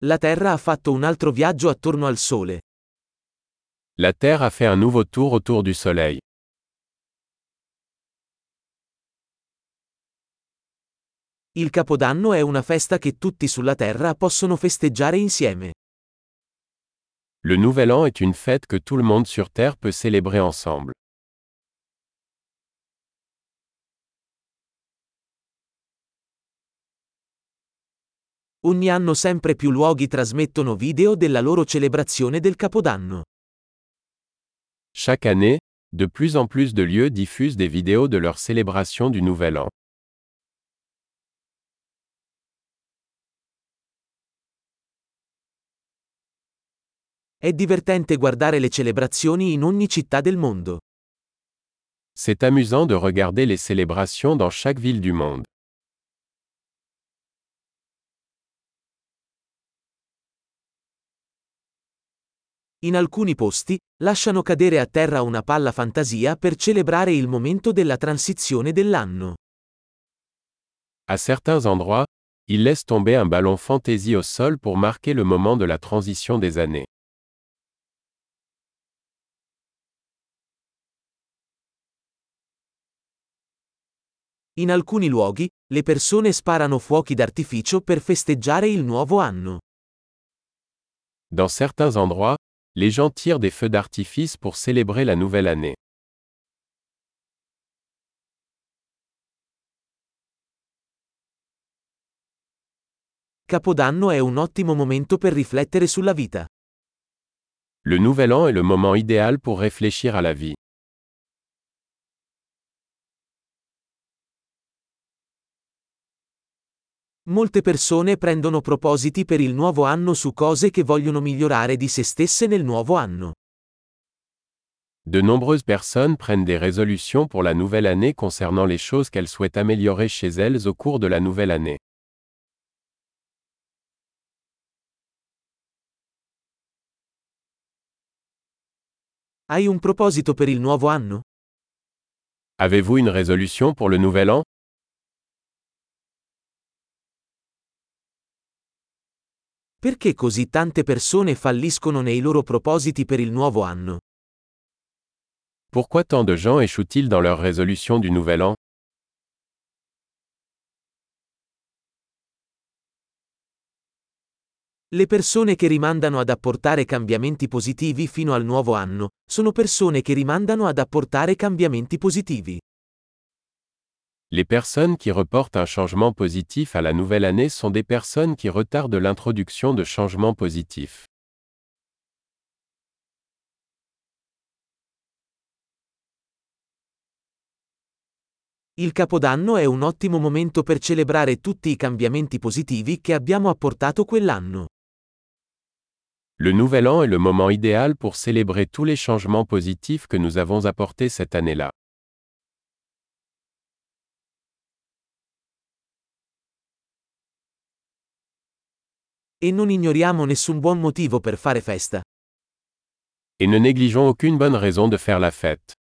La Terra ha fatto un altro viaggio attorno al Sole. La Terre a fait un nouveau tour autour du Soleil. Il Capodanno è una festa che tutti sulla Terra possono festeggiare insieme. Le Nouvel An est une fête que tout le monde sur Terre peut célébrer ensemble. Ogni anno sempre più luoghi trasmettono video della loro celebrazione del Capodanno. Chaque année, de plus en plus de lieux diffusent des vidéos de leur célébration du Nouvel An. È divertente guardare le celebrazioni in ogni città del mondo. C'est amusant de regarder les célébrations dans chaque ville du monde. In alcuni posti, lasciano cadere a terra una palla fantasia per celebrare il momento della transizione dell'anno. À certains endroits, ils laissent tomber un ballon fantaisie au sol pour marquer le moment de la transition des années. In alcuni luoghi, le persone sparano fuochi d'artificio per festeggiare il nuovo anno. Dans certains endroits, les gens tirent des feux d'artifice pour célébrer la nouvelle année. Capodanno è un ottimo momento per riflettere sulla vita. Le Nouvel An est le moment idéal pour réfléchir à la vie. Molte persone prendono propositi per il nuovo anno su cose che vogliono migliorare di se stesse nel nuovo anno. De nombreuses personnes prennent des résolutions pour la nouvelle année concernant les choses qu'elles souhaitent améliorer chez elles au cours de la nouvelle année. Hai un proposito per il nuovo anno? Avez-vous une résolution pour le Nouvel An? Perché così tante persone falliscono nei loro propositi per il nuovo anno? Pourquoi tant de gens échouent-ils dans leurs résolutions du Nouvel An? Le persone che rimandano ad apportare cambiamenti positivi fino al nuovo anno, sono persone che rimandano ad apportare cambiamenti positivi. Les personnes qui reportent un changement positif à la nouvelle année sont des personnes qui retardent l'introduction de changements positifs. Il Capodanno è un ottimo momento per celebrare tutti i cambiamenti positivi che abbiamo apportato quell'anno. Le Nouvel An est le moment idéal pour célébrer tous les changements positifs que nous avons apportés cette année-là. E non ignoriamo nessun buon motivo per fare festa. Et ne négligeons aucune bonne raison de faire la fête.